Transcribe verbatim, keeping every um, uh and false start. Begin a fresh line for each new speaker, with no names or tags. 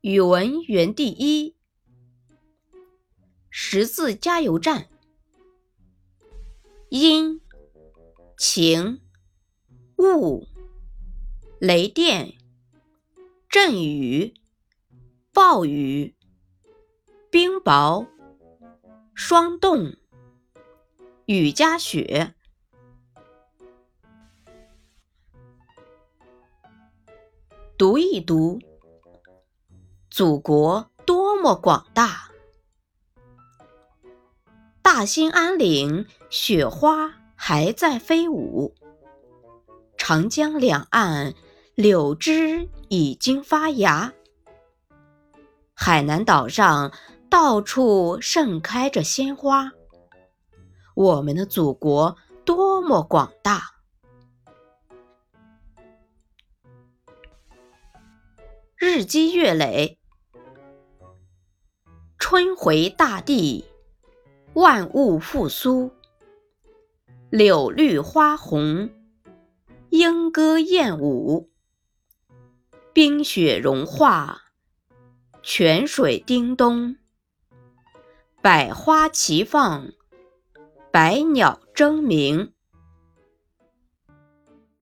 语文园地一，识字加油站。阴、晴、雾、雷电、阵雨、暴雨、冰雹、霜冻、雨夹雪。读一读，祖国多么广大！大兴安岭雪花还在飞舞，长江两岸柳枝已经发芽，海南岛上到处盛开着鲜花。我们的祖国多么广大！日积月累，春回大地，万物复苏，柳绿花红，莺歌燕舞，冰雪融化，泉水叮咚，百花齐放，百鸟争鸣。